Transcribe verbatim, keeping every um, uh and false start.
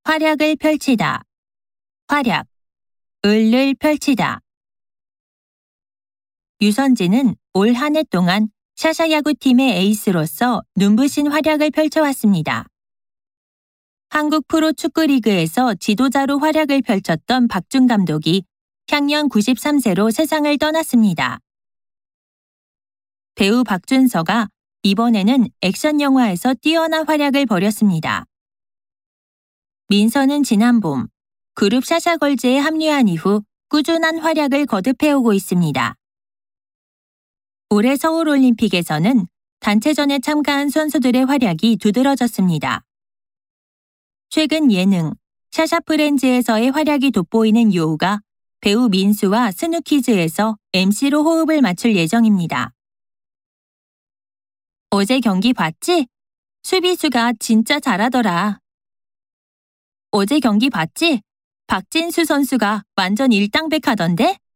활약을 펼치다. 활약, 을을 펼치다. 유선진은 올 한 해 동안 샤샤 야구팀의 에이스로서 눈부신 활약을 펼쳐왔습니다. 한국 프로축구리그에서 지도자로 활약을 펼쳤던 박준 감독이 향년 구십삼 세로 세상을 떠났습니다. 배우 박준서가 이번에는 액션 영화에서 뛰어난 활약을 벌였습니다. 민서는 지난 봄 그룹 샤샤걸즈에 합류한 이후 꾸준한 활약을 거듭해오고 있습니다. 올해 서울올림픽에서는 단체전에 참가한 선수들의 활약이 두드러졌습니다. 최근 예능 샤샤 프렌즈에서의 활약이 돋보이는 요우가 배우 민수와 스누키즈에서 엠시로 호흡을 맞출 예정입니다. 어제 경기 봤지? 수비수가 진짜 잘하더라. 어제 경기 봤지? 박진수 선수가 완전 일당백하던데?